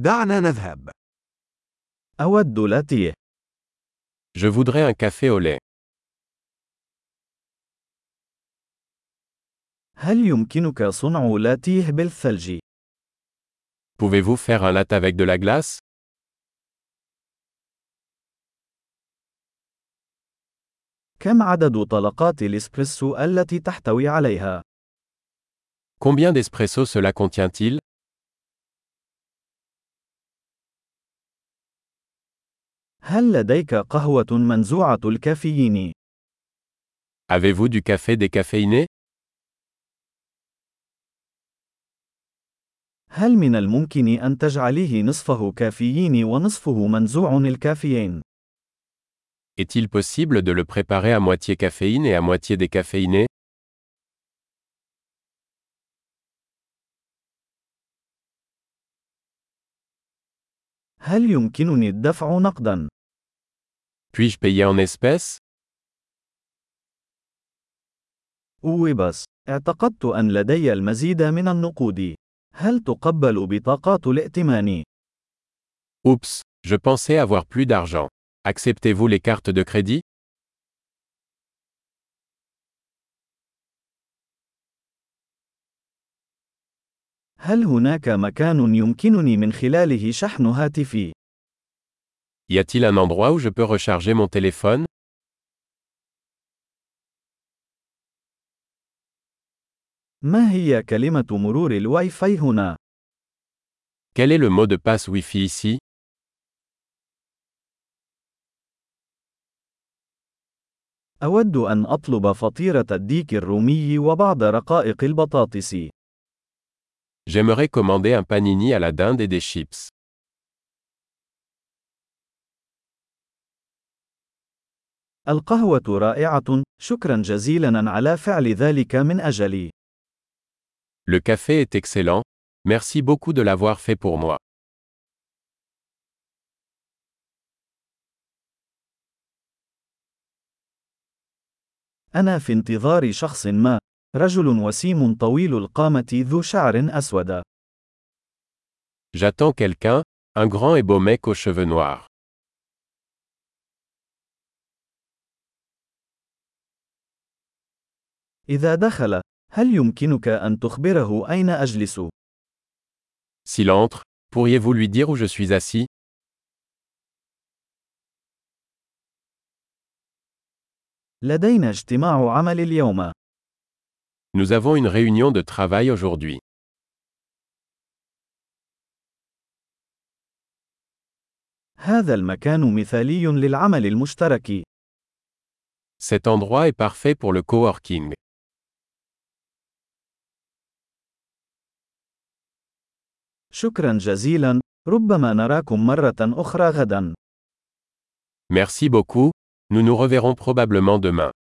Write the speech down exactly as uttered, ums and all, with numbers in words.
دعنا نذهب. أود لاتيه. Je voudrais un café au lait. هل يمكنك صنع لاتيه بالثلج؟ Pouvez-vous faire un latte avec de la glace? كم عدد طلقات الإسبريسو التي تحتوي عليها؟ Combien d'espresso cela contient-il? هل لديك قهوة منزوعة الكافيين؟ Avez-vous du café décaféiné? هل من الممكن أن تجعليه نصفه كافيين ونصفه منزوع الكافيين؟ Est-il possible de le préparer à moitié caféine et à moitié décaféiné? هل يمكنني الدفع نقداً؟ Puis-je payer en espèces? أوه بس، اعتقدت أن لدي المزيد من النقود. هل تقبل بطاقات الائتمان؟ Oups, je pensais avoir plus d'argent. Acceptez-vous les cartes de crédit? هل هناك مكان يمكنني من خلاله شحن هاتفي؟ Y a-t-il un endroit où je peux recharger mon téléphone? ما هي كلمة مرور الواي فاي هنا؟ Quel est le mot de passe Wi-Fi ici? أود أن أطلب فطيرة الديك الرومي وبعض رقائق البطاطس. J'aimerais commander un panini à la dinde et des chips. القهوة رائعة، شكرا جزيلا على فعل ذلك من أجلي. Le café est excellent. Merci beaucoup de l'avoir fait pour moi. أنا في انتظار شخص ما، رجل وسيم طويل القامة ذو شعر أسود. J'attends quelqu'un, un grand et beau mec aux cheveux noirs. إذا دخل، هل يمكنك أن تخبره أين أجلس؟ S'il entre, pourriez-vous lui dire où je suis assis? لدينا اجتماع عمل اليوم. Nous avons une réunion de travail aujourd'hui. هذا المكان مثالي للعمل المشترك. Cet endroit est parfait pour le coworking. شكرا جزيلا، ربما نراكم مرة أخرى غدا. Merci beaucoup, nous nous reverrons probablement demain.